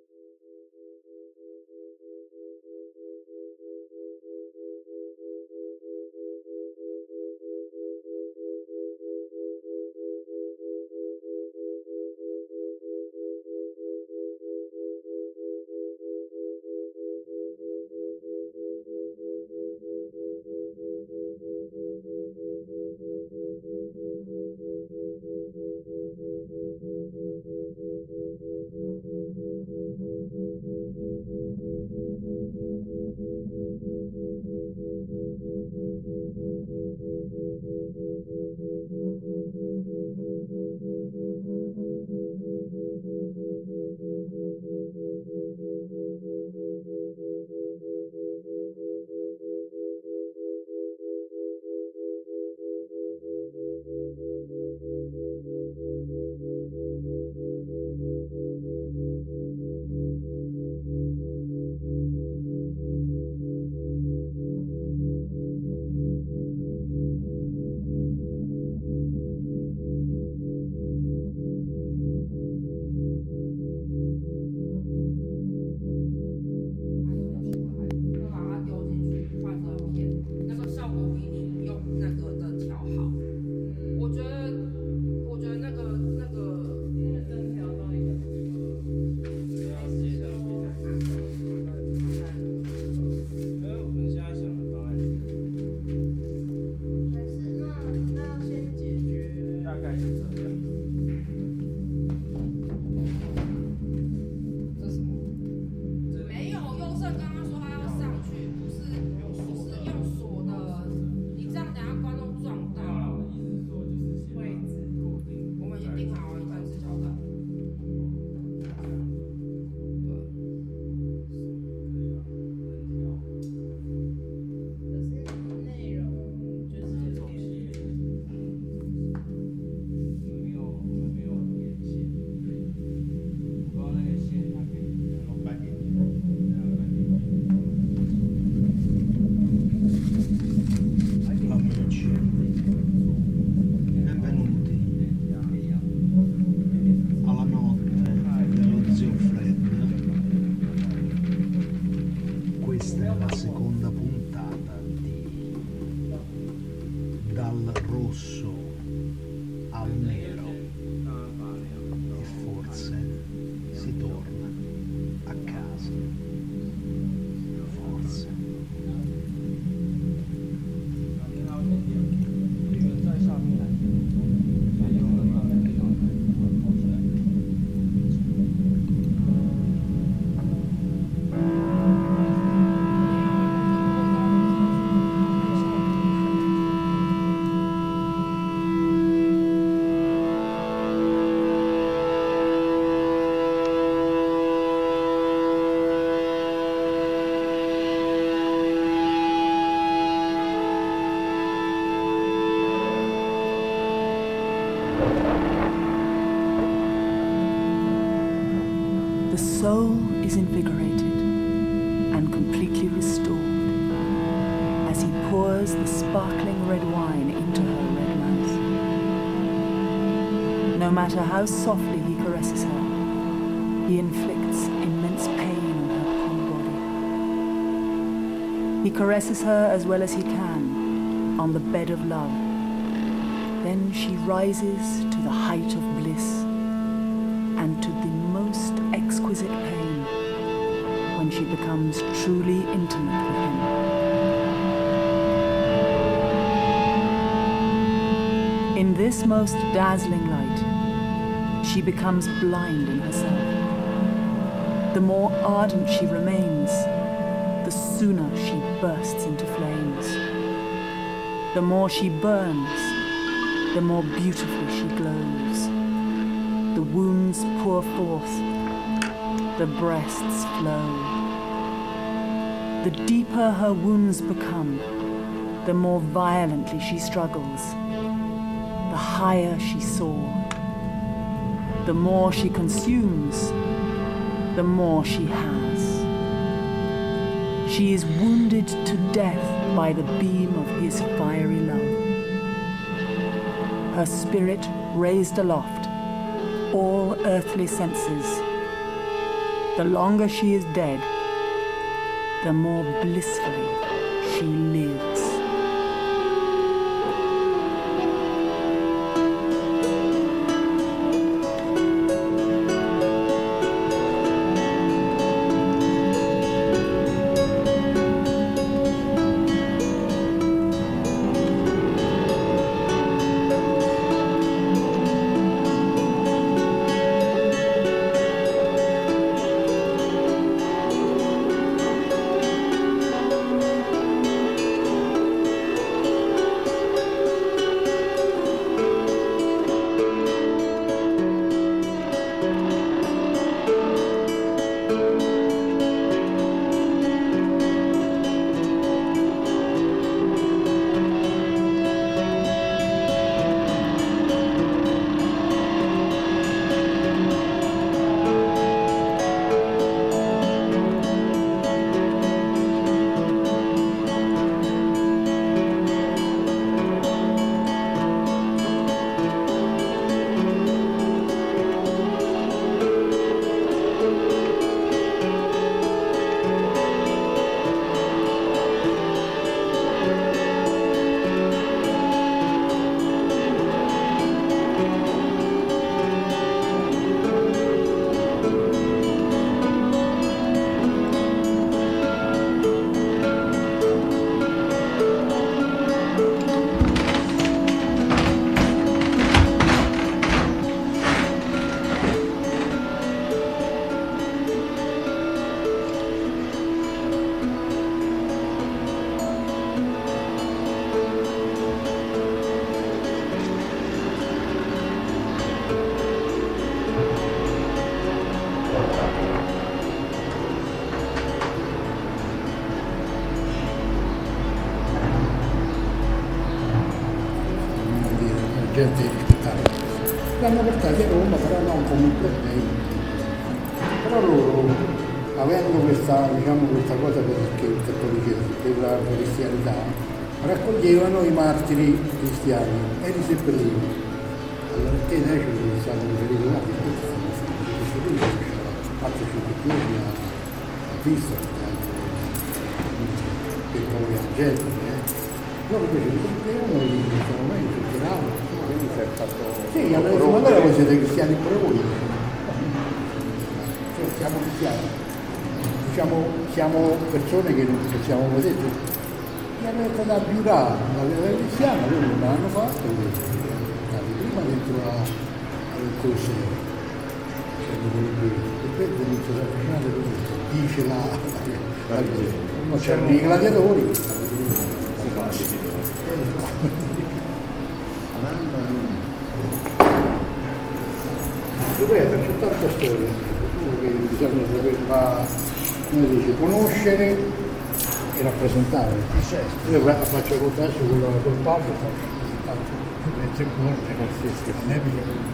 soul is invigorated and completely restored as he pours the sparkling red wine into her red mouth. No matter how softly he caresses her, he inflicts immense pain on her poor body. He caresses her as well as he can on the bed of love. Then she rises to the height of bliss and to the most exquisite pain when she becomes truly intimate with him. In this most dazzling light, she becomes blind in herself. The more ardent she remains, the sooner she bursts into flames. The more she burns, the more beautifully she glows. The wounds pour forth, the breasts flow. The deeper her wounds become, the more violently she struggles. The higher she soars. The more she consumes, the more she has. She is wounded to death by the beam of his fiery love. Her spirit raised aloft, all earthly senses, The longer she is dead, the more blissfully she lives. Gente rispettare. L'hanno portati a Roma, però non come un problema. Però loro, avendo questa, questa cosa per il cattolicesimo, per la cristianità, raccoglievano i martiri cristiani e li seppellivano. Allora te ne c'è stato riferito là, che questo stanno facendo, questo qui c'è altri cittadini a vista, per come la gente, loro invece li seppellivano, li mettevano meglio, li tiravano. Sì, allora voi siete cristiani pure voi. Cioè, siamo cristiani. Diciamo, siamo persone che non possiamo vedere. Mi hanno detto da giurare la vita cristiana, loro non l'hanno fatto, prima dentro al Colosseo. E poi comincia a avvicinare così, dice la c'erano i gladiatori. Dov'è? C'è tanta storia, che bisogna saper conoscere e rappresentare. Io faccio il contesto col Papa, faccio il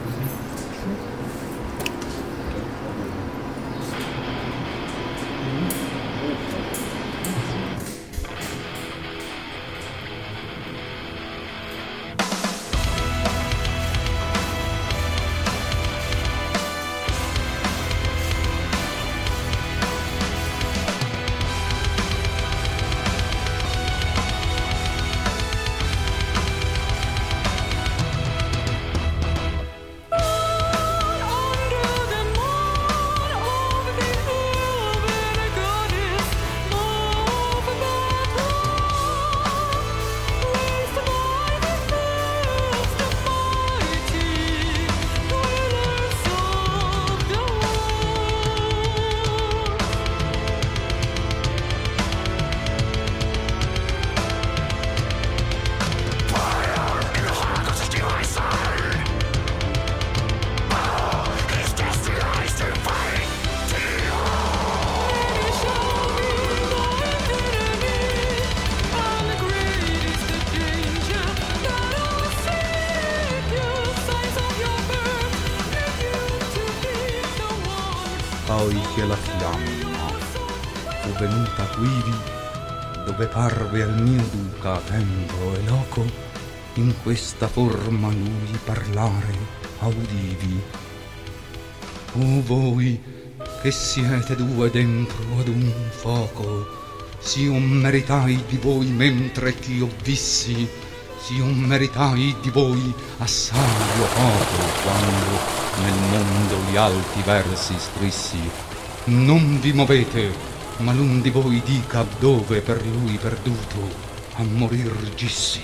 poi che la fiamma fu venuta quivi, dove parve al mio duca tempo e loco, in questa forma lui parlare audivi. O voi che siete due dentro ad un foco, s'io meritai di voi mentre ch'io vissi, s'io meritai di voi assai o poco, quando nel mondo gli alti versi scrissi. Non vi movete, ma l'un di voi dica dove per lui perduto a morir gissi.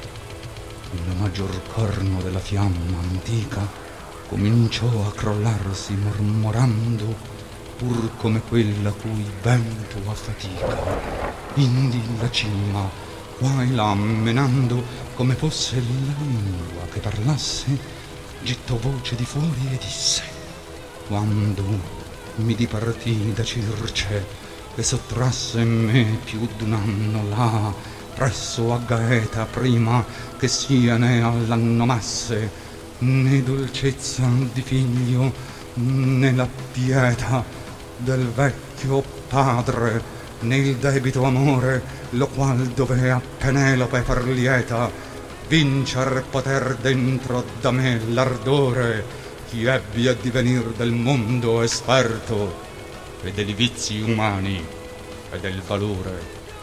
Il maggior corno della fiamma antica cominciò a crollarsi mormorando, pur come quella cui vento affatica. Indi la cima, qua e là menando, come fosse la lingua che parlasse, gettò voce di fuori e disse: quando mi dipartì da Circe e sottrasse me più d'un anno là presso a Gaeta, prima che sia ne all'annomasse né dolcezza di figlio né la pietà del vecchio padre, né il debito amore, lo qual dovea Penelope far lieta, vincer poter dentro da me l'ardore, chi ebbi a divenir del mondo esperto e dei vizi umani e del valore,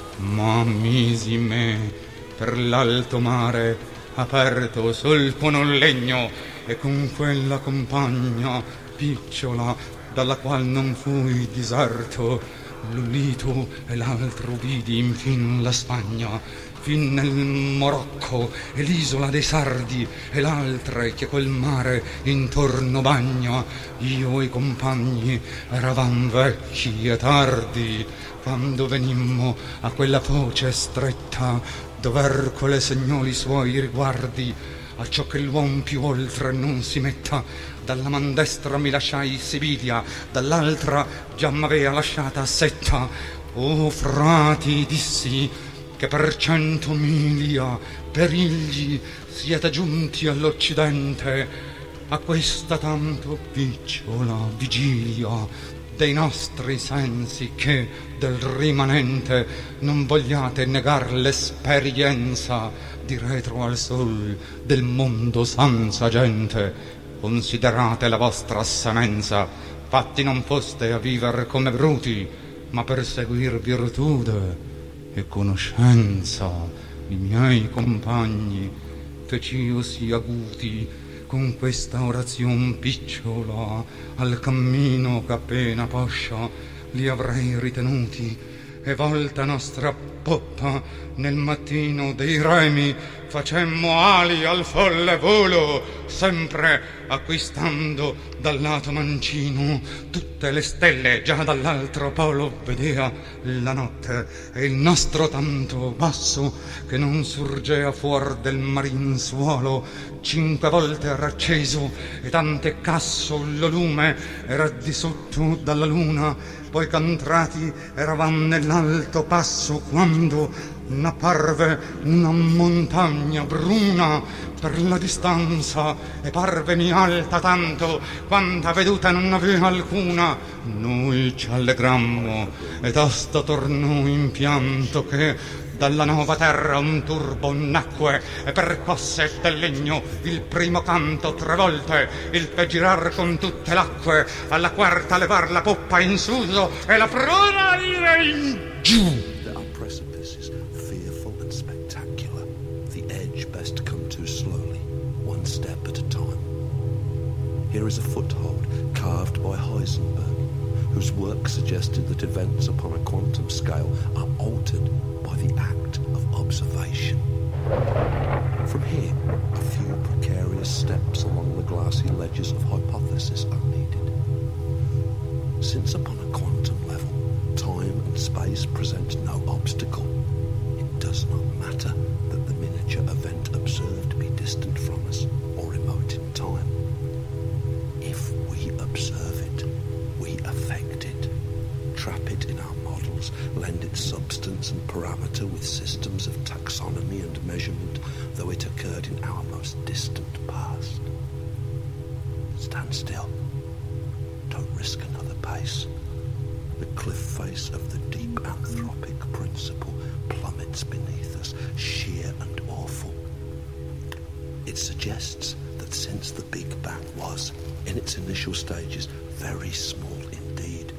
ma misi me per l'alto mare aperto sul non legno, e con quella compagna picciola dalla qual non fui diserto, l'Ulito e l'altro vidi infin la Spagna, fin nel Morocco e l'isola dei Sardi, e l'altre che col mare intorno bagna. Io e i compagni eravam vecchi e tardi, quando venimmo a quella foce stretta, dover con le segnoli suoi riguardi, acciò che l'uom più oltre non si metta. Dalla man destra mi lasciai Sibilia, dall'altra già m'avea lasciata Setta. O frati, dissi, che per 100 miglia perigli siete giunti all'Occidente, a questa tanto picciola vigilia dei nostri sensi, che del rimanente non vogliate negar l'esperienza di retro al sol del mondo senza gente. Considerate la vostra semenza, fatti non foste a viver come bruti, ma per seguir virtude e conoscenza. I miei compagni fec'io sì aguti con questa orazion picciola, al cammino che appena poscia li avrei ritenuti, e volta nostra poppa nel mattino dei remi facemmo ali al folle volo, sempre acquistando dal lato mancino tutte le stelle già dall'altro polo vedea la notte, e il nostro tanto basso che non surgea fuor del marin suolo 5 volte era acceso, e tante casso lo lume era di sotto dalla luna. Poi ch'entrati eravam nell'alto passo, quando n'apparve una montagna bruna per la distanza, e parvemi alta tanto quanta veduta non aveva alcuna. Noi ci allegrammo e tosto tornò in pianto che dalla nuova terra un turbo nacque e percosse del legno il primo canto 3 volte, il fe girar con tutte l'acque, alla quarta levar la poppa in suso e la pruna ire in giù. There are precipices fearful and spectacular, the edge best come to slowly, one step at a time. Here is a foothold carved by Heisenberg, whose work suggested that events upon a quantum scale are altered by the act of observation. From here, a few precarious steps along the glassy ledges of hypothesis are needed. Since upon a quantum level, time and space present no obstacle, it does not matter that the miniature event observed be distant from us or remote in time. If we observe it, we affect it, trap it in our models, lend it substance and parameter with systems of taxonomy and measurement, though it occurred in our most distant past. Stand still. Don't risk another pace. The cliff face of the deep anthropic principle plummets beneath us, sheer and awful. It suggests that since the Big Bang was, in its initial stages, very small indeed,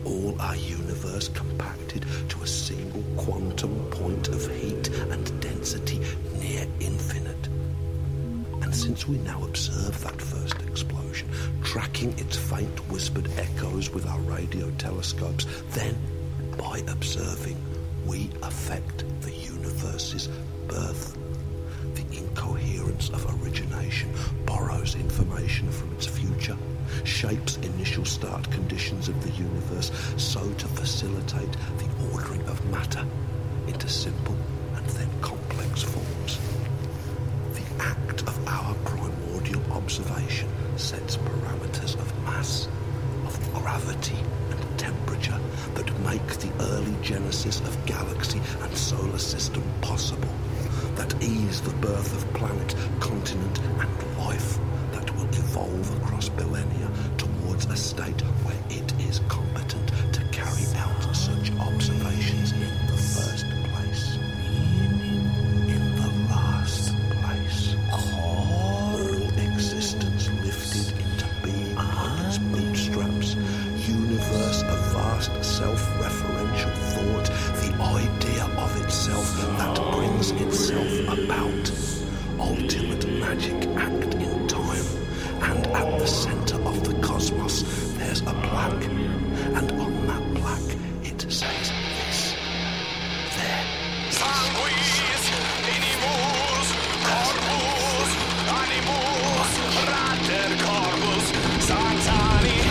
all our universe compacted to a single quantum point of heat and density near infinite. And since we now observe that first explosion, tracking its faint whispered echoes with our radio telescopes, then, by observing, we affect the universe's birth. The incoherence of origination borrows information from its future, shapes initial start conditions of the universe so to facilitate the ordering of matter into simple and then complex forms. The act of our primordial observation sets parameters of mass, of gravity and temperature that make the early genesis of galaxy and solar system possible, that ease the birth of planet, continent and life that will evolve across millennia towards a state where it is competent to carry out such observations in the first place. In the last place. All existence lifted into being on its bootstraps. Universe of vast self-referential thought, the idea of itself that brings itself about. Ultimate magic act in time. And at the centre of the cosmos there's a plaque. And on that plaque it says this. There. Sanguis, inimus, corpus, animus, rater corpus, Santani.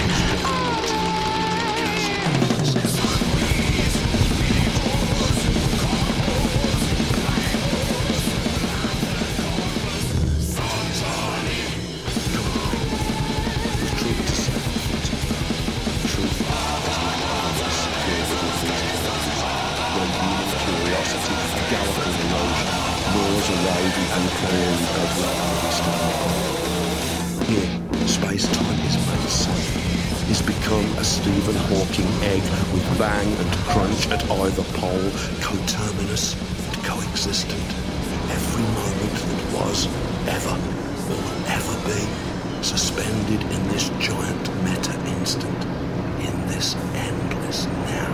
Here, space-time is made safe, is become a Stephen Hawking egg with bang and crunch at either pole, coterminous and coexistent. Every moment that was, ever, or will ever be, suspended in this giant meta-instant, in this endless now.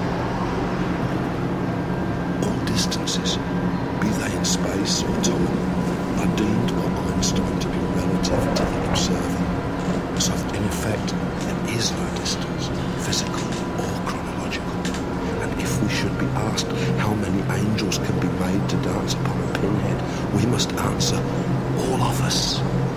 All distances, be they in space or time, are deemed by Einstein to be relative to the observer. So that in effect, there is no distance, physical or chronological. And if we should be asked how many angels can be made to dance upon a pinhead, we must answer, all of us.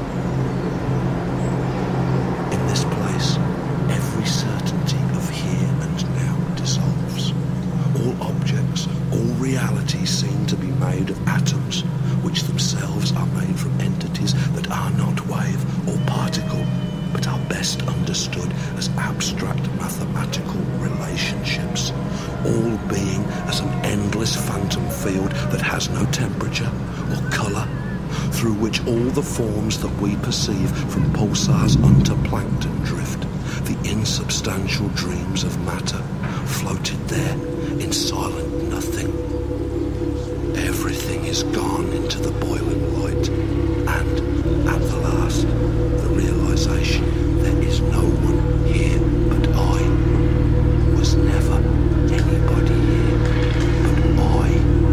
In this place, every certainty of here and now dissolves. All objects, all realities seem to be made of atoms, which themselves are made from entities that are not wave or particle, but are best understood as abstract mathematical relationships, all being as an endless phantom field that has no temperature or colour, through which all the forms that we perceive from pulsars unto plankton drift, the insubstantial dreams of matter, floated there in silent nothing. Everything is gone into the boiling light, and at the last, the realization there is no one here but I. Was never anybody here but I.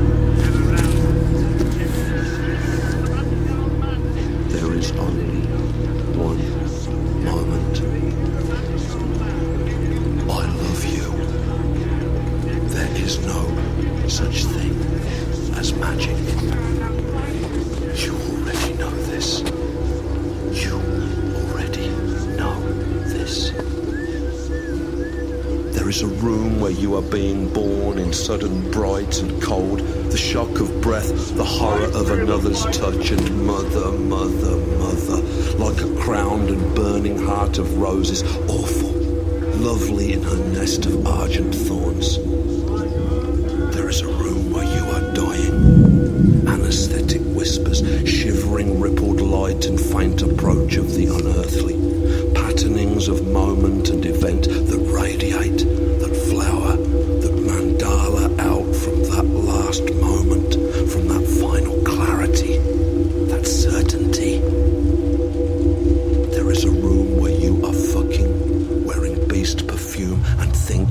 There is only one moment. I love you. There is no such thing as magic. You already know this. You already know this. There is a room where you are being born in sudden bright and cold, the shock of breath, the horror of another's touch, and mother, mother, mother, like a crowned and burning heart of roses, awful, lovely in her nest of argent thorns. There is a room where you are dying. Anesthetic whispers, shivering rippled light and faint approach of the unearthly. Patternings of moment and event that radiate, that flower, that mandala out from that last moment, from that final clarity, that certainty. There is a room where you are fucking, wearing beast perfume and think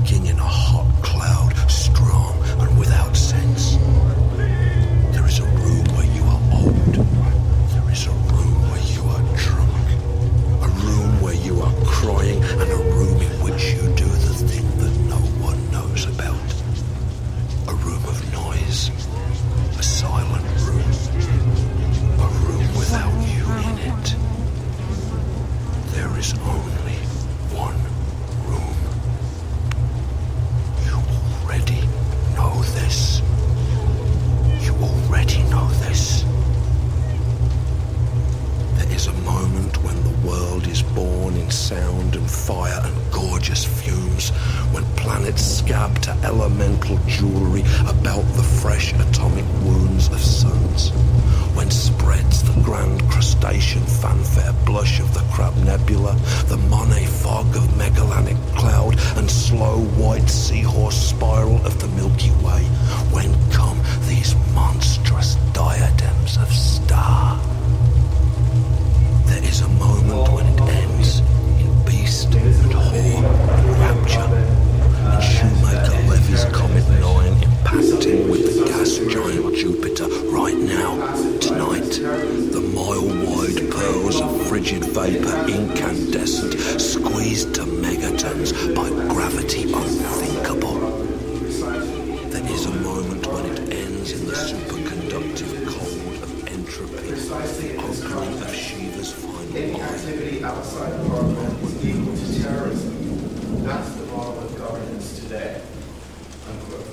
now, tonight, the mile-wide pearls of frigid vapour incandescent, squeezed to megatons by gravity unthinkable. There is a moment when it ends in the superconductive cold of entropy, the opening of Shiva's final eye. Activity outside of our home is equal to terrorism. That's the model of governance today. Unquote.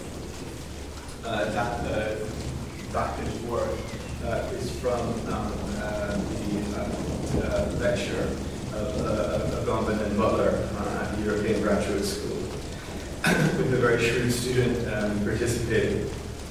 That word is from the lecture of Agamben and Butler at the European Graduate School, with a very shrewd student participating.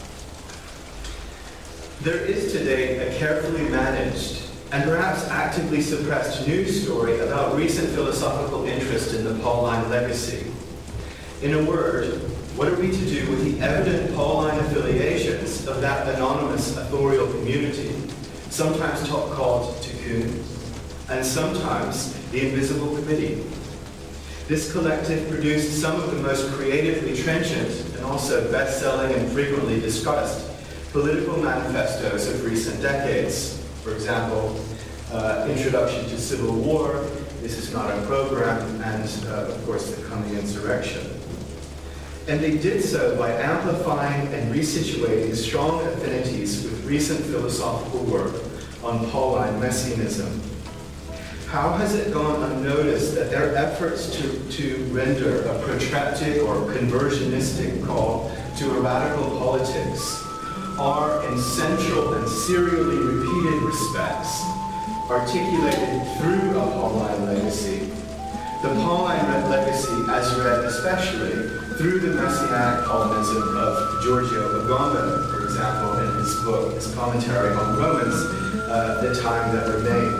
There is today a carefully managed and perhaps actively suppressed news story about recent philosophical interest in the Pauline legacy. In a word, what are we to do with the evident Pauline affiliations of that anonymous authorial community, sometimes called Tikkun, and sometimes the Invisible Committee? This collective produced some of the most creatively trenchant and also best-selling and frequently discussed political manifestos of recent decades. For example, Introduction to Civil War, This Is Not a Program, and of course the Coming Insurrection. And they did so by amplifying and resituating strong affinities with recent philosophical work on Pauline messianism. How has it gone unnoticed that their efforts to render a protracted or conversionistic call to a radical politics are, in central and serially repeated respects, articulated through a Pauline legacy? The Pauline legacy, as read especially through the messianic Paulinism of Giorgio Agamben, for example, in his book, his commentary on Romans, The Time That Remains.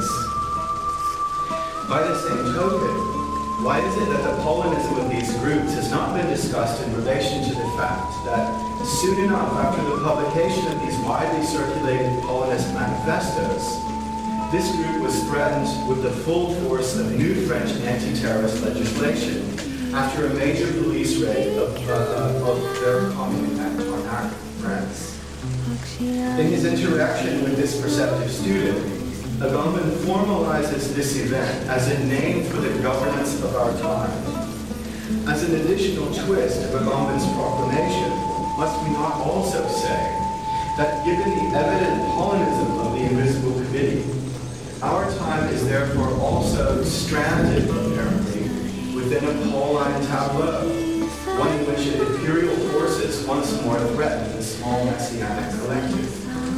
By the same token, why is it that the Paulinism of these groups has not been discussed in relation to the fact that soon enough after the publication of these widely circulated Paulinist manifestos, this group was threatened with the full force of new French anti-terrorist legislation after a major police raid of their commune at Tarnac, France. In his interaction with this perceptive student, Agamben formalizes this event as a name for the governance of our time. As an additional twist of Agamben's proclamation, must we not also say that given the evident Paulinism of the Invisible Committee, our time is therefore also stranded, apparently, within a Pauline tableau, one in which imperial forces once more threaten the small messianic collective.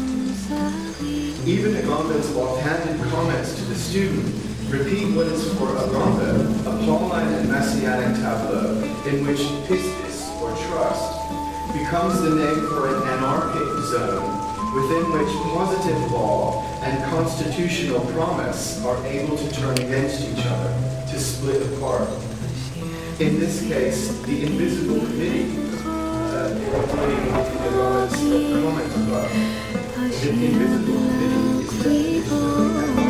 Even Agamben's offhanded comments to the student repeat what is for Agamben a Pauline and messianic tableau in which pistis, or trust, becomes the name for an anarchic zone within which positive law and constitutional promise are able to turn against each other, to split apart. In this case, the Invisible Committee, including Agamben's comment above, the Invisible Committee is definitionally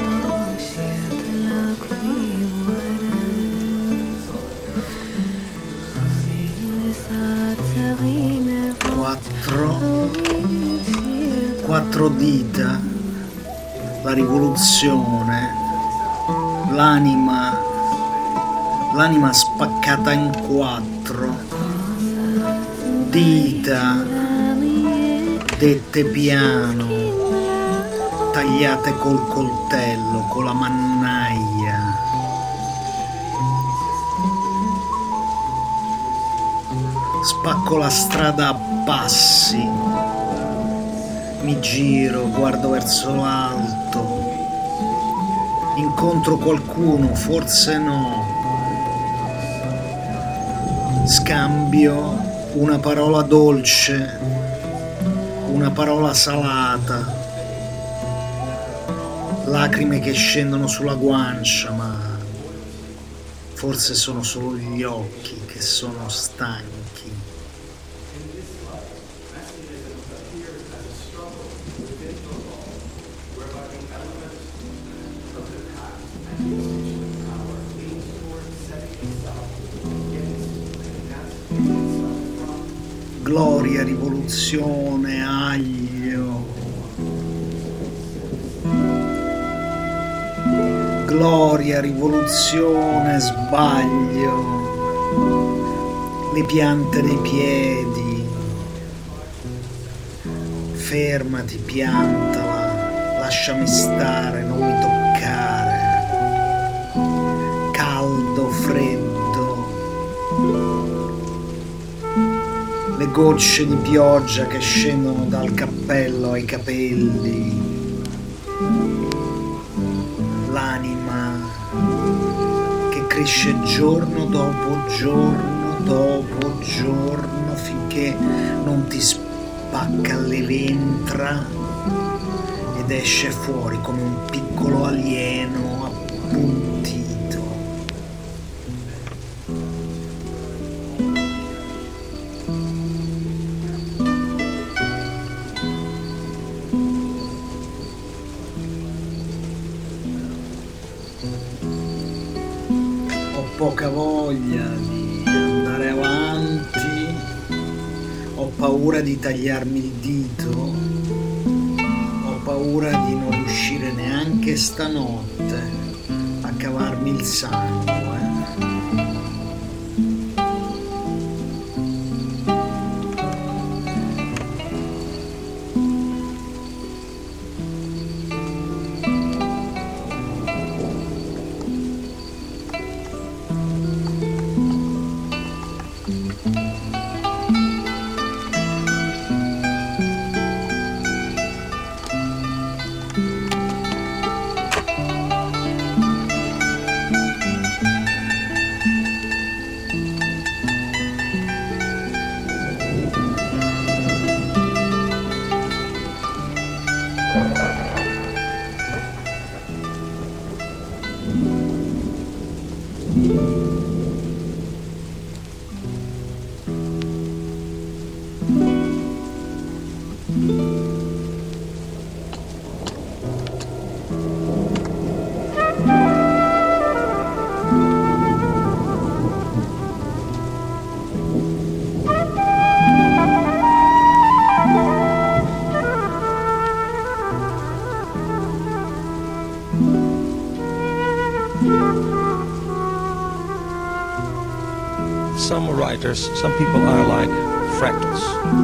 quattro dita, la rivoluzione, l'anima spaccata in quattro, dita dette piano, tagliate col coltello, con la mannaia. Spacco la strada a passi, mi giro, guardo verso l'alto, incontro qualcuno, forse no, scambio una parola dolce, una parola salata, lacrime che scendono sulla guancia, ma forse sono solo gli occhi che sono stanchi. Gloria, rivoluzione, aglio, gloria, rivoluzione, sbaglio, le piante dei piedi, fermati, piantala, lasciami stare, non mi toccare, caldo, freddo, le gocce di pioggia che scendono dal cappello ai capelli, l'anima che cresce giorno dopo giorno finché non ti spacca le ventre ed esce fuori come un piccolo alieno appuntito. Poca voglia di andare avanti, ho paura di tagliarmi il dito, ho paura di non riuscire neanche stanotte a cavarmi il sangue. Some writers, some people are like fractals.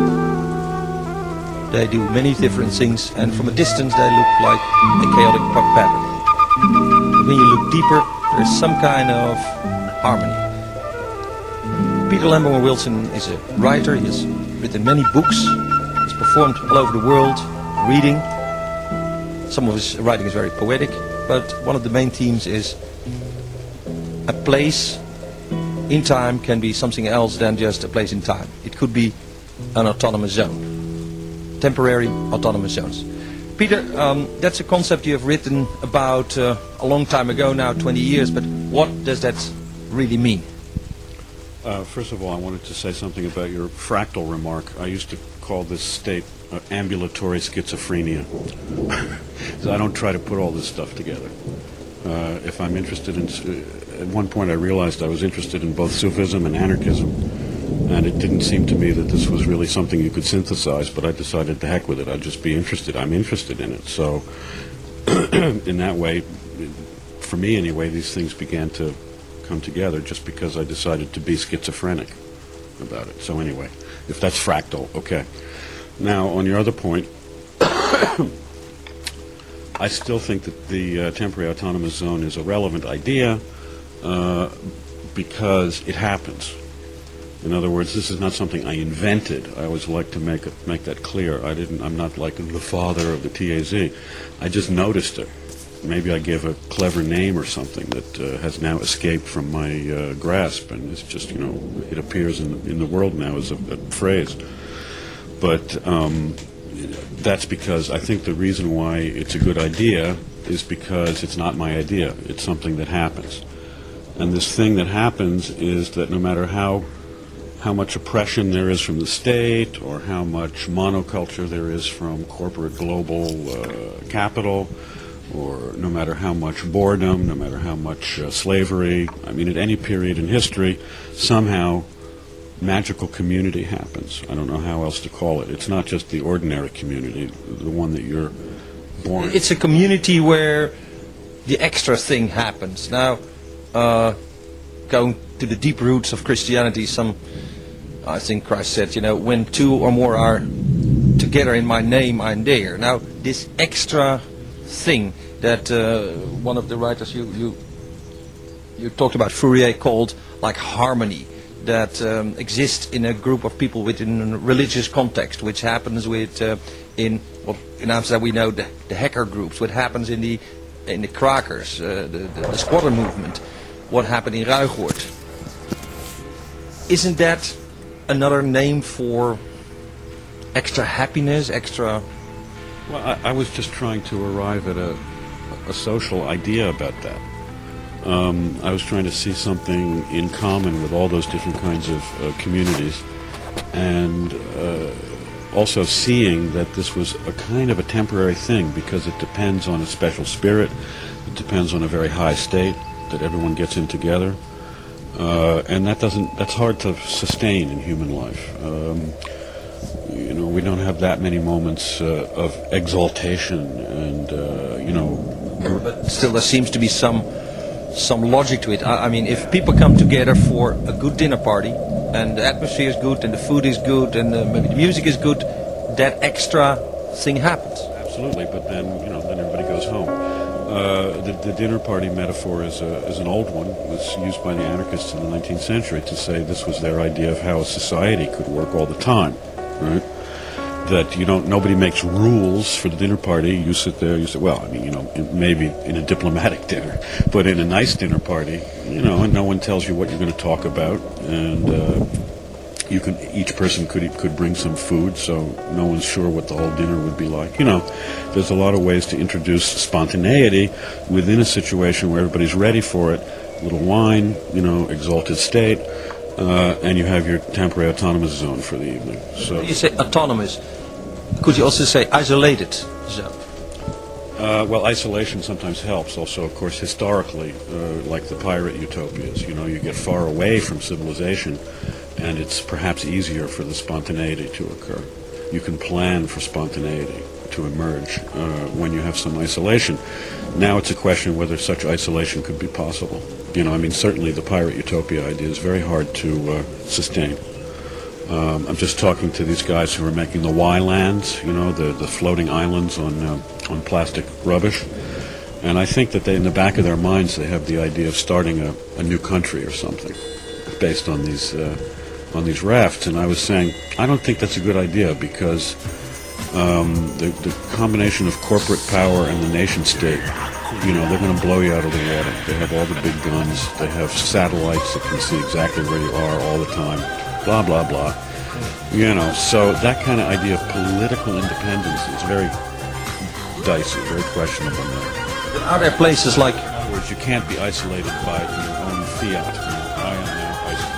They do many different things, and from a distance they look like a chaotic pattern. But when you look deeper, there's some kind of harmony. Peter Lamborn Wilson is a writer. He has written many books. He's performed all over the world, reading. Some of his writing is very poetic, but one of the main themes is a place in time can be something else than just a place in time. It could be an autonomous zone, temporary autonomous zones. Peter, that's a concept you have written about a long time ago now, 20 years, but what does that really mean? First of all, I wanted to say something about your fractal remark. I used to call this state ambulatory schizophrenia. So I don't try to put all this stuff together. If I'm interested in... At one point I realized I was interested in both Sufism and anarchism, and it didn't seem to me that this was really something you could synthesize, but I decided to heck with it. I'd just be interested. I'm interested in it. So in that way, for me anyway, these things began to come together just because I decided to be schizophrenic about it. So anyway, if that's fractal, okay. Now, on your other point, I still think that the temporary autonomous zone is a relevant idea because it happens. In other words, this is not something I invented. I always like to make that clear. I'm not like the father of the TAZ. I just noticed it. Maybe I gave a clever name or something that has now escaped from my grasp, and it's just, it appears in the world now as a phrase. But that's because I think the reason why it's a good idea is because it's not my idea. It's something that happens. And this thing that happens is that no matter how much oppression there is from the state, or how much monoculture there is from corporate global capital, or no matter how much boredom, no matter how much slavery, I mean, at any period in history, somehow magical community happens. I don't know how else to call it. It's not just the ordinary community, the one that you're born in. It's a community where the extra thing happens. Now, going to the deep roots of Christianity, I think Christ said, when two or more are together in my name, I'm there. Now, this extra thing that one of the writers you talked about, Fourier, called like harmony, that exists in a group of people within a religious context, which happens in Amsterdam we know the hacker groups, what happens in the Krakers, the squatter movement, what happened in Ruigoord. Isn't that another name for extra happiness, extra... Well, I was just trying to arrive at a social idea about that. I was trying to see something in common with all those different kinds of communities, and also seeing that this was a kind of a temporary thing, because it depends on a special spirit, it depends on a very high state that everyone gets in together, and that's hard to sustain in human life. We don't have that many moments of exaltation, and But still, there seems to be some logic to it. I mean, if people come together for a good dinner party, and the atmosphere is good, and the food is good, and maybe the music is good, that extra thing happens. Absolutely, but then then everybody goes home. The dinner party metaphor is an old one. It was used by the anarchists in the 19th century to say this was their idea of how a society could work all the time, right? That nobody makes rules for the dinner party. You sit there, you say, well, I mean, maybe in a diplomatic dinner, but in a nice dinner party, and no one tells you what you're going to talk about, and each person could bring some food, so no one's sure what the whole dinner would be like. There's a lot of ways to introduce spontaneity within a situation where everybody's ready for it. A little wine, exalted state, and you have your temporary autonomous zone for the evening. So you say autonomous. Could you also say isolated zone? Well, isolation sometimes helps. Also, of course, historically, like the pirate utopias, you get far away from civilization, and it's perhaps easier for the spontaneity to occur. You can plan for spontaneity to emerge when you have some isolation. Now it's a question whether such isolation could be possible. Certainly the pirate utopia idea is very hard to sustain. I'm just talking to these guys who are making the Y-lands, the floating islands on plastic rubbish. And I think that in the back of their minds they have the idea of starting a new country or something based on these rafts. And I was saying, I don't think that's a good idea, because the combination of corporate power and the nation state, they're going to blow you out of the water. They have all the big guns. They have satellites that can see exactly where you are all the time. Blah, blah, blah. So that kind of idea of political independence is very dicey, very questionable now. But are there places like... In other words, you can't be isolated by your own fiat. I am now isolated.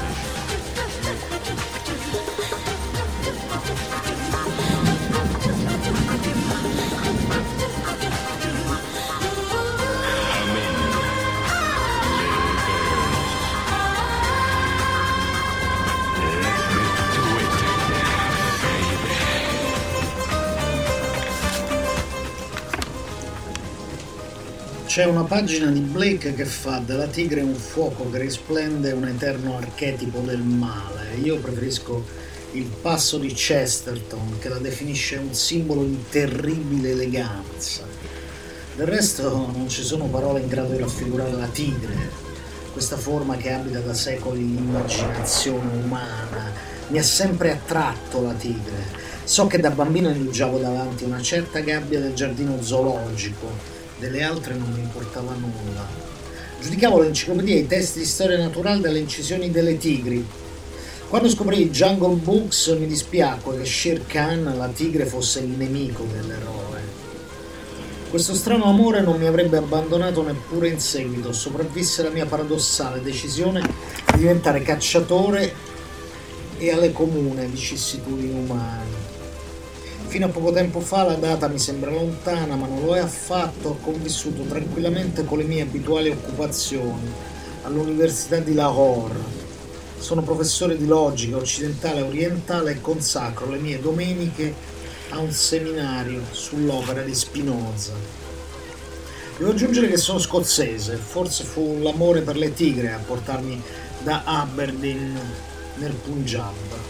C'è una pagina di Blake che fa della tigre un fuoco che risplende, un eterno archetipo del male. Io preferisco il passo di Chesterton, che la definisce un simbolo di terribile eleganza. Del resto non ci sono parole in grado di raffigurare la tigre, questa forma che abita da secoli l'immaginazione umana. Mi ha sempre attratto la tigre. So che da bambino indugiavo davanti una certa gabbia del giardino zoologico, delle altre non mi importava nulla. Giudicavo l'enciclopedia e i testi di storia naturale dalle incisioni delle tigri. Quando scoprì Jungle Books mi dispiacque che Shere Khan, la tigre, fosse il nemico dell'eroe. Questo strano amore non mi avrebbe abbandonato neppure in seguito. Sopravvisse la mia paradossale decisione di diventare cacciatore e alle comuni vicissitudini umane. Fino a poco tempo fa la data mi sembra lontana, ma non lo è affatto. Ho convissuto tranquillamente con le mie abituali occupazioni all'Università di Lahore. Sono professore di logica occidentale e orientale e consacro le mie domeniche a un seminario sull'opera di Spinoza. Devo aggiungere che sono scozzese, forse fu l'amore per le tigre a portarmi da Aberdeen nel Punjab.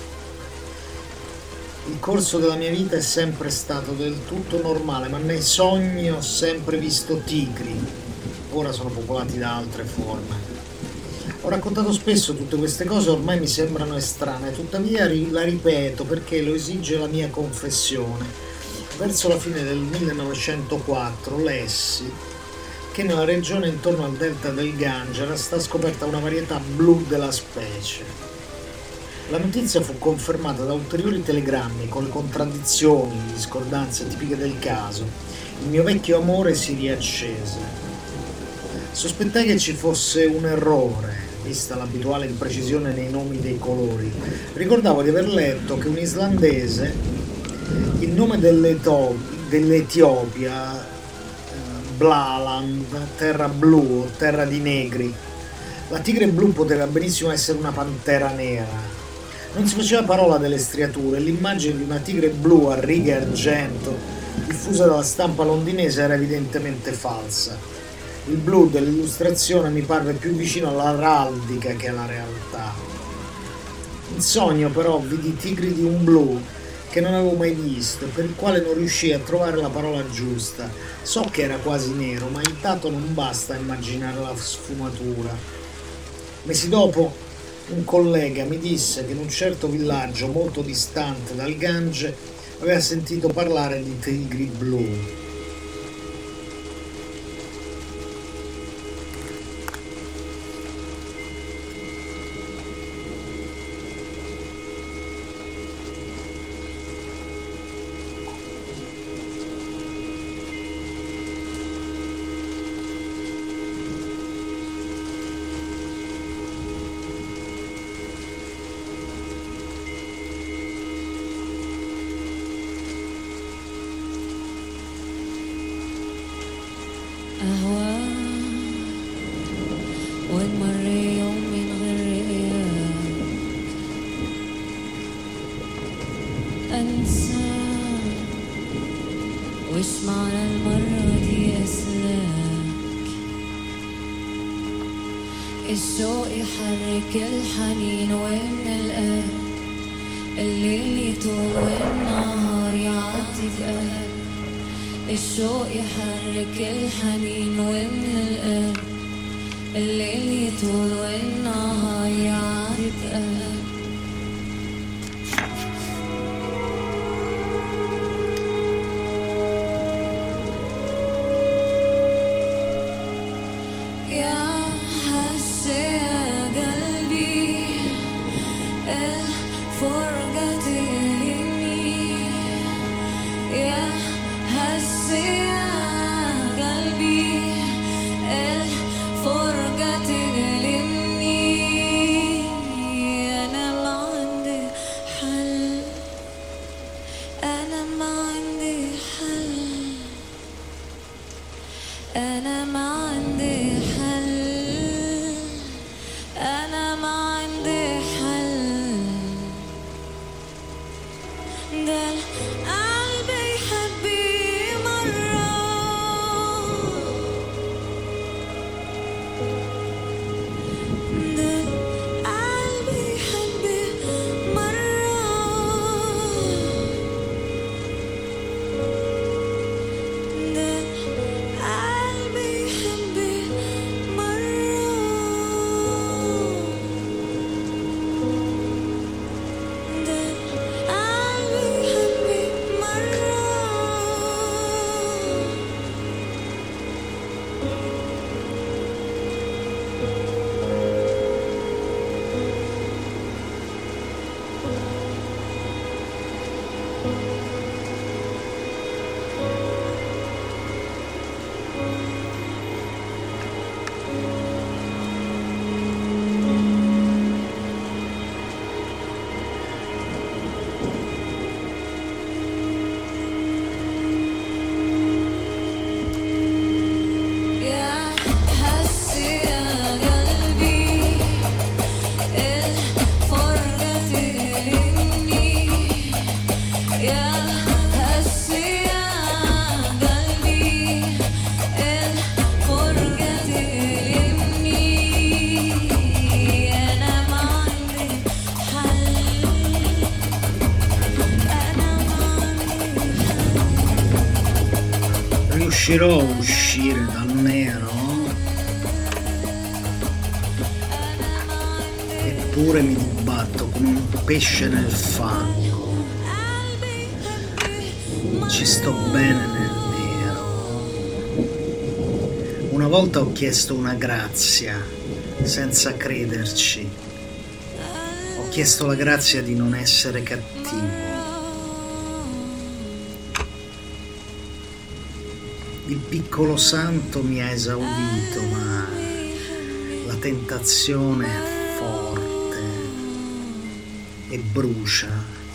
Il corso della mia vita è sempre stato del tutto normale, ma nei sogni ho sempre visto tigri. Ora sono popolati da altre forme. Ho raccontato spesso tutte queste cose, ormai mi sembrano estranee, tuttavia la ripeto perché lo esige la mia confessione. Verso la fine del 1904 lessi che nella regione intorno al delta del Gange era stata scoperta una varietà blu della specie. La notizia fu confermata da ulteriori telegrammi con le contraddizioni, le discordanze tipiche del caso. Il mio vecchio amore si riaccese. Sospettai che ci fosse un errore, vista l'abituale imprecisione nei nomi dei colori. Ricordavo di aver letto che un islandese, il nome dell'Etiopia, Blaland, terra blu o terra di negri. La tigre blu poteva benissimo essere una pantera nera. Non si faceva parola delle striature, l'immagine di una tigre blu a righe argento diffusa dalla stampa londinese era evidentemente falsa. Il blu dell'illustrazione mi parve più vicino all'araldica che alla realtà. In sogno però vidi tigri di un blu che non avevo mai visto e per il quale non riuscii a trovare la parola giusta. So che era quasi nero, ma il dato non basta a immaginare la sfumatura. Mesi dopo un collega mi disse che in un certo villaggio molto distante dal Gange aveva sentito parlare di tigri blu. الشوق يحرك الحنين ومن القلب الليل يطول والنهار يعدي بقلب الشوق يحرك الحنين ومن القلب الليل يطول والنهار يعدي بقلب Yeah, I see, I riuscirò a uscire dal nero? Eppure mi dibatto come un pesce nel fango. Ci sto bene nel nero. Una volta ho chiesto una grazia, senza crederci. Ho chiesto la grazia di non essere cattivo. Il piccolo santo mi ha esaudito, ma la tentazione è forte e brucia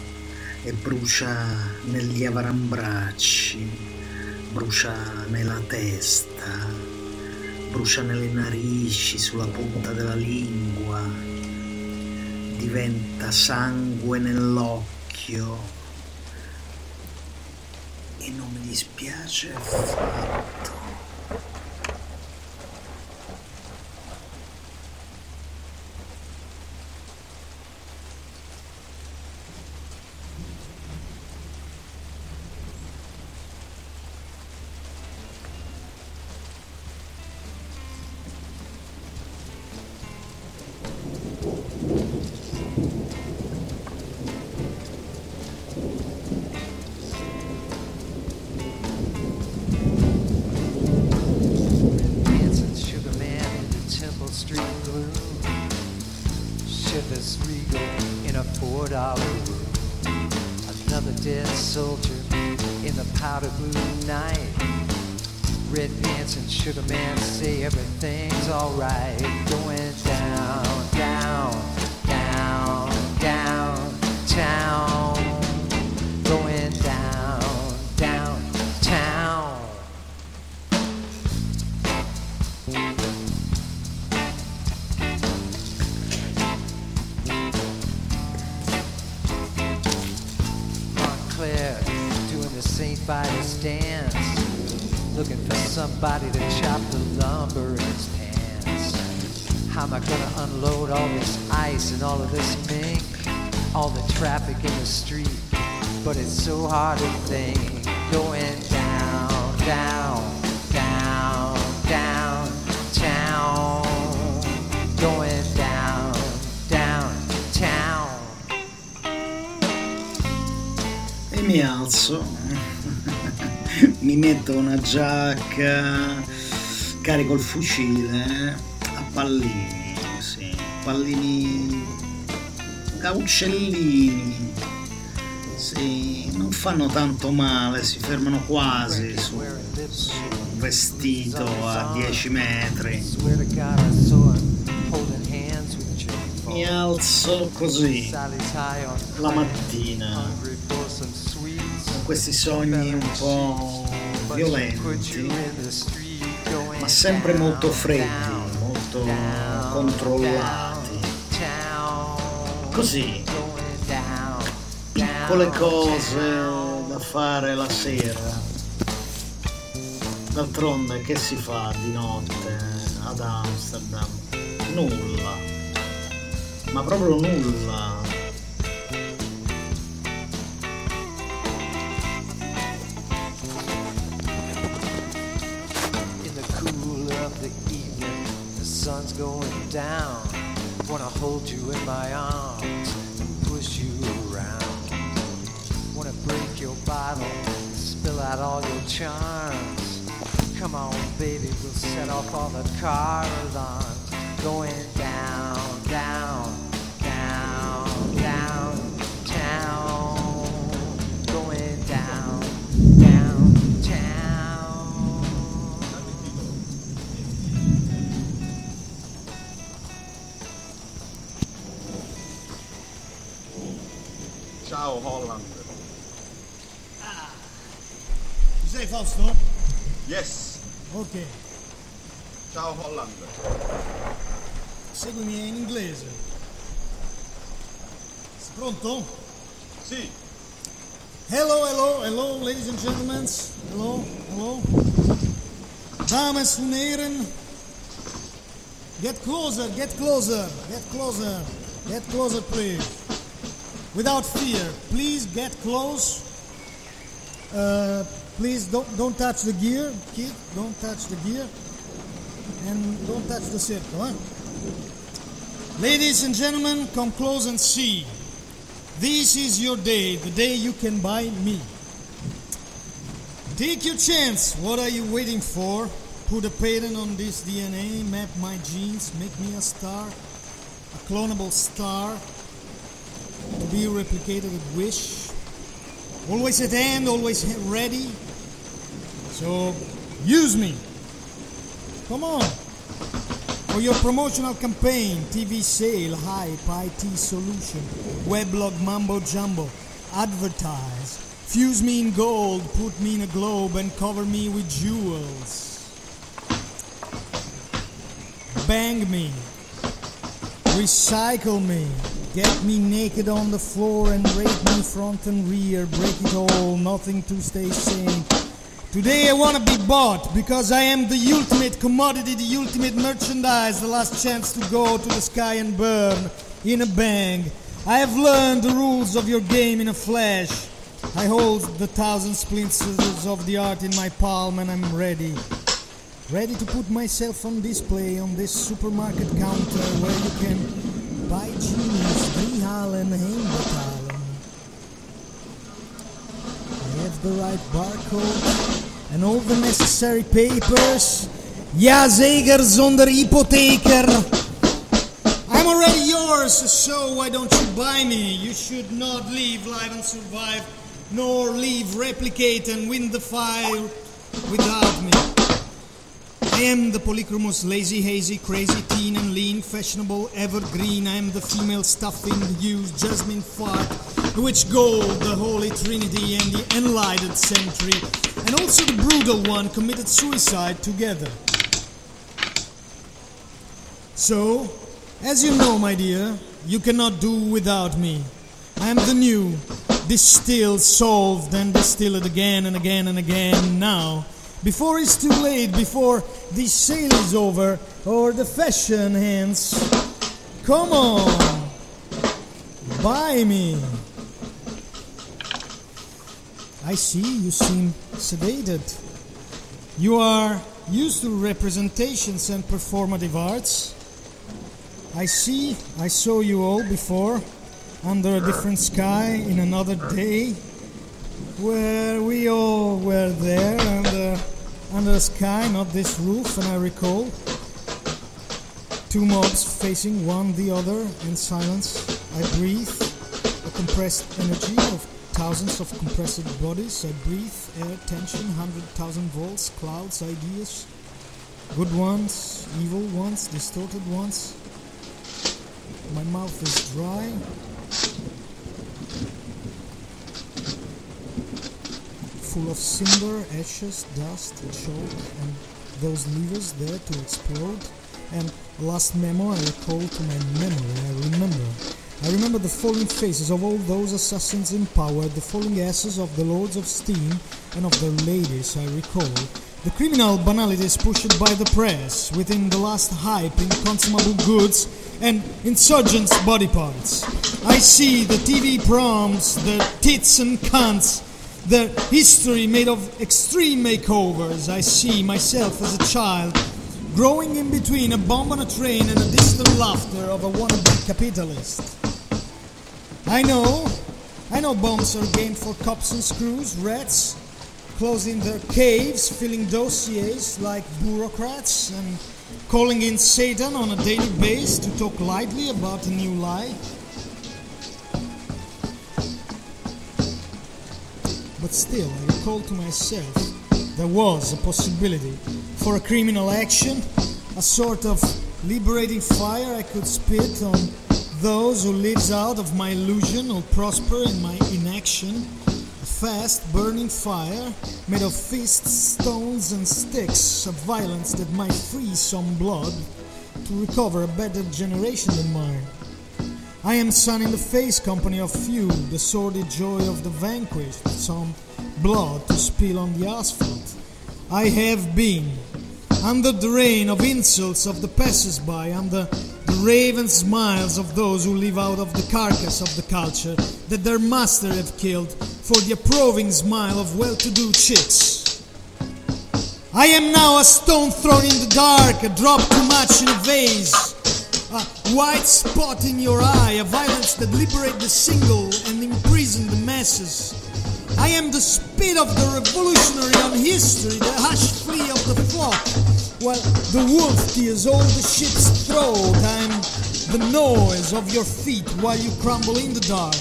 negli avambracci, brucia nella testa, brucia nelle narici, sulla punta della lingua, diventa sangue nell'occhio. E non mi dispiace affatto. Sugar man say everything's alright. Going down, down, down, downtown. Going down, downtown. Montclair doing the St. Vitus dance. Looking for somebody to chop the lumber in his pants. How am I gonna unload all this ice and all of this mink? All the traffic in the street, but it's so hard to think. Going down, down, down, downtown. Going down, downtown. E mi alzo. Mi metto una giacca, carico il fucile a pallini, sì, pallini a uccellini, sì, non fanno tanto male, si fermano quasi su un vestito a 10 metri. Mi alzo così la mattina, con questi sogni un po' violenti, ma sempre molto freddi, molto controllati. Così, piccole cose da fare la sera. D'altronde che si fa di notte ad Amsterdam? Nulla, ma proprio nulla. Sun's going down. Wanna hold you in my arms and push you around. Wanna break your bottle, spill out all your charms. Come on, baby, we'll set off all the car alarms. Going down, down, down, downtown. Going down, downtown. Ciao Holland. Ci sei Fausto? Yes. Ok. Ciao Holland. Seguimi in inglese. Sei pronto? Sì. Hello, hello, hello, ladies and gentlemen. Hello, hello. Dames und Herren. Get closer, get closer, get closer. Get closer, please. Without fear, please get close. Please don't touch the gear, kid. Don't touch the gear. And don't touch the circle, huh? Ladies and gentlemen, come close and see. This is your day, the day you can buy me. Take your chance. What are you waiting for? Put a patent on this DNA, map my genes, make me a star, a clonable star, to be replicated at wish. Always at hand, always ready. So, use me. Come on. For your promotional campaign, TV sale, hype, IT solution, weblog mambo jumbo, advertise. Fuse me in gold, put me in a globe and cover me with jewels. Bang me. Recycle me. Get me naked on the floor and rape me front and rear. Break it all, nothing to stay sane. Today I want to be bought because I am the ultimate commodity, the ultimate merchandise, the last chance to go to the sky and burn in a bang. I have learned the rules of your game in a flash. I hold the 1,000 splinters of the art in my palm and I'm ready. Ready to put myself on display on this supermarket counter where you can buy jeans, drihalen, heenbetalen. I have the right barcode and all the necessary papers. Ja, zeker, zonder hypotheker. I'm already yours, so why don't you buy me? You should not live, live and survive, nor live, replicate and win the fight without me. I am the polychromos, lazy, hazy, crazy, teen and lean, fashionable, evergreen. I am the female stuffing used, jasmine fart, the witch gold, the holy trinity and the enlightened century, and also the brutal one committed suicide together. So, as you know, my dear, you cannot do without me. I am the new, distilled, solved, and distilled again and again and again now. Before it's too late, before this sale is over, or the fashion ends. Come on, buy me. I see you seem sedated. You are used to representations and performative arts. I see, I saw you all before, under a different sky, in another day, where we all were there, under a sky, not this roof, and I recall two mobs facing one the other in silence. I breathe a compressed energy of thousands of compressed bodies. I breathe air, tension, 100,000 volts, clouds, ideas, good ones, evil ones, distorted ones. My mouth is dry. Full of cinder, ashes, dust, choke, and those levers there to explode. And last memo I recall to my memory. I remember the falling faces of all those assassins in power, the falling asses of the lords of steam and of their ladies, I recall. The criminal banalities pushed by the press within the last hype in consumable goods and insurgents' body parts. I see the TV proms, the tits and cunts, the history made of extreme makeovers. I see myself as a child growing in between a bomb on a train and a distant laughter of a wannabe capitalist. I know bombs are game for cops and screws, rats, closing their caves, filling dossiers like bureaucrats, and calling in Satan on a daily basis to talk lightly about a new lie. But still, I recall to myself, there was a possibility for a criminal action, a sort of liberating fire I could spit on those who lives out of my illusion or prosper in my inaction. A fast burning fire made of fists, stones and sticks, a violence that might freeze some blood to recover a better generation than mine. I am sun in the face company of few, the sordid joy of the vanquished, some blood to spill on the asphalt. I have been under the rain of insults of the passers-by, under the raven smiles of those who live out of the carcass of the culture that their master have killed for the approving smile of well-to-do chicks. I am now a stone thrown in the dark, a drop too much in a vase, a white spot in your eye, a violence that liberate the single and imprison the masses. I am the spit of the revolutionary on history, the hush flea of the flock, while the wolf tears all the ship's throat. I am the noise of your feet while you crumble in the dark.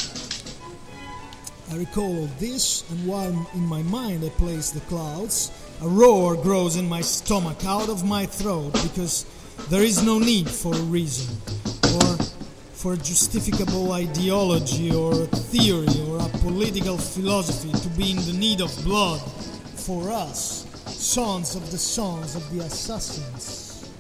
I recall all this, and while in my mind I place the clouds, a roar grows in my stomach out of my throat, because there is no need for a reason, or for a justificable ideology, or a theory, or a political philosophy to be in the need of blood for us, sons of the assassins.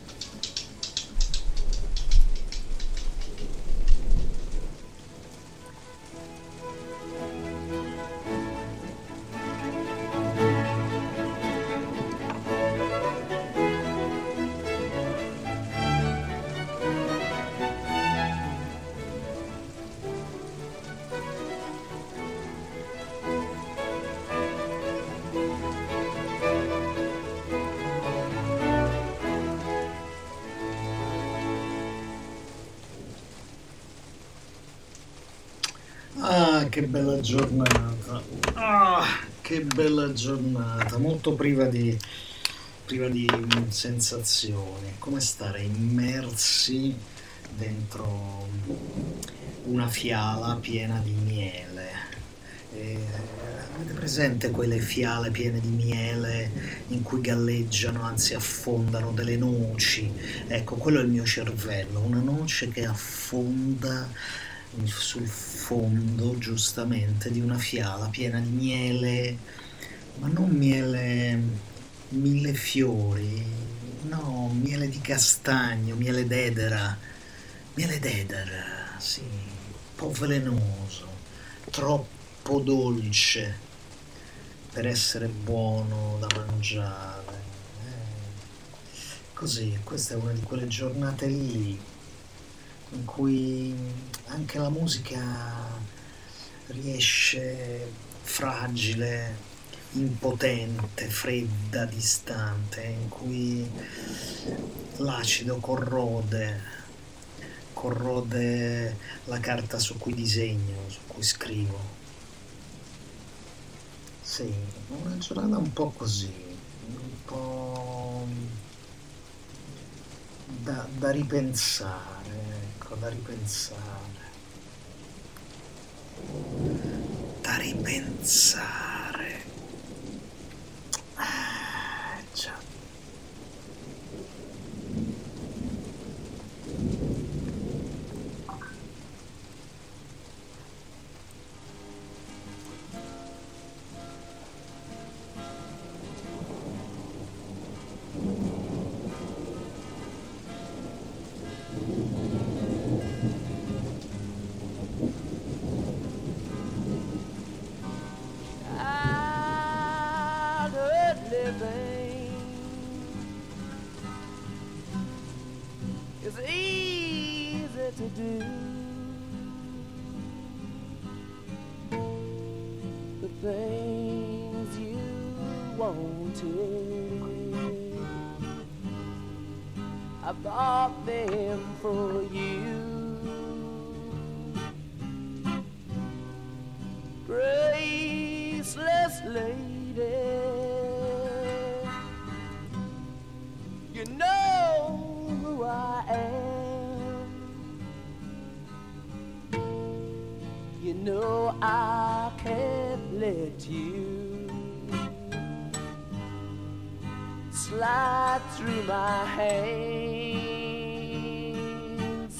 Che bella giornata, che bella giornata, molto priva di sensazioni, come stare immersi dentro una fiala piena di miele. Avete presente quelle fiale piene di miele in cui galleggiano, anzi affondano delle noci? Ecco, quello è il mio cervello, una noce che affonda sul fondo, giustamente, di una fiala piena di miele, ma non miele mille fiori, no, miele di castagno, miele d'edera, sì, un po' velenoso, troppo dolce per essere buono da mangiare. Così, questa è una di quelle giornate lì in cui anche la musica riesce fragile, impotente, fredda, distante, in cui l'acido corrode la carta su cui disegno, su cui scrivo. Sì, una giornata un po' così, un po' da ripensare, ecco, da ripensare. Già. It's easy to do. The things you wanted, I bought them for you. Graceless lady, you know who I am. You know I can't let you slide through my hands.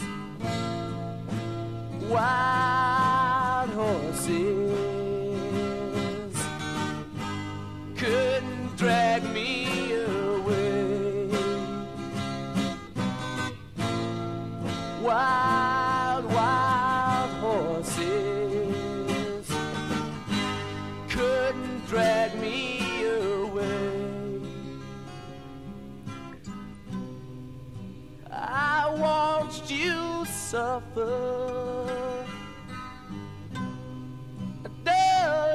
Wild horses couldn't drag me away. Wild, wild horses couldn't drag me away. I watched you suffer.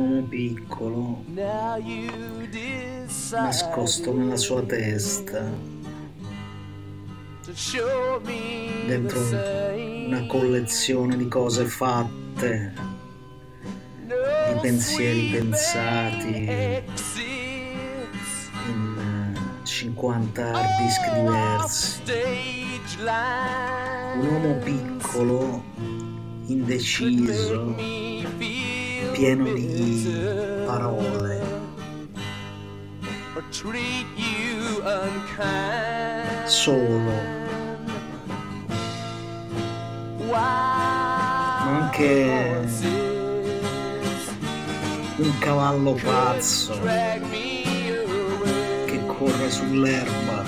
uomo piccolo, Now you decide nascosto nella sua testa, to show me dentro the same. una collezione di cose fatte, di pensieri pensati in 50 hard disk diversi. Un uomo piccolo, indeciso, pieno di parole, Treat you unkind. solo, ma anche un cavallo pazzo che corre sull'erba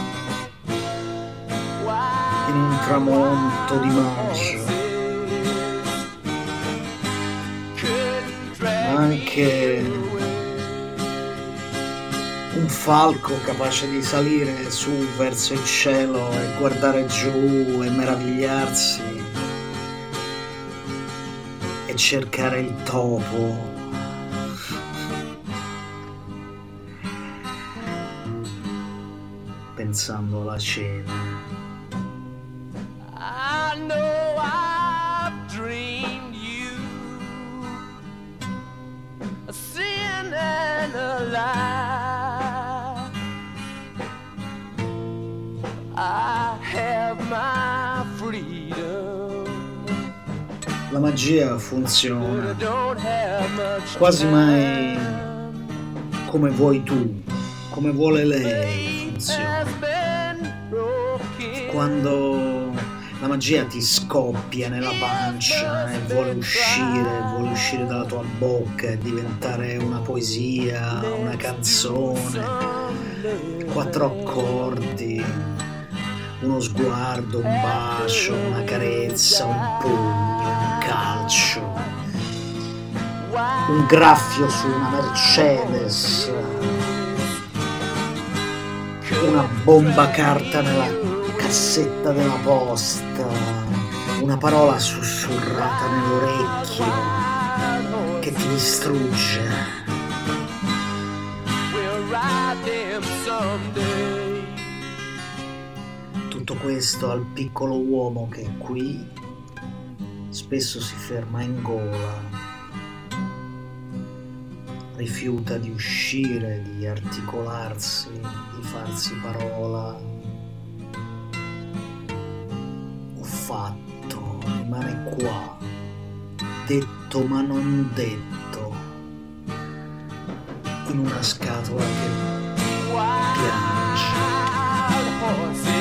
in un tramonto di maggio, ma anche un falco capace di salire su verso il cielo e guardare giù e meravigliarsi e cercare il topo. Pensando alla cena. I know I've dreamed you a sin and a lie. I have my freedom. La magia funziona I don't have much quasi time. mai come vuoi tu, come vuole lei funziona. Quando la magia ti scoppia nella pancia e vuole uscire dalla tua bocca e diventare una poesia, una canzone, 4 accordi, uno sguardo, un bacio, una carezza, un pugno, un calcio, un graffio su una Mercedes, una bomba carta nella cassetta della posta, una parola sussurrata nell'orecchio che ti distrugge. We'll ride them someday. Tutto questo al piccolo uomo che qui spesso si ferma in gola, rifiuta di uscire, di articolarsi, di farsi parola. Ho fatto, rimane qua, detto ma non detto, in una scatola che piange. Horses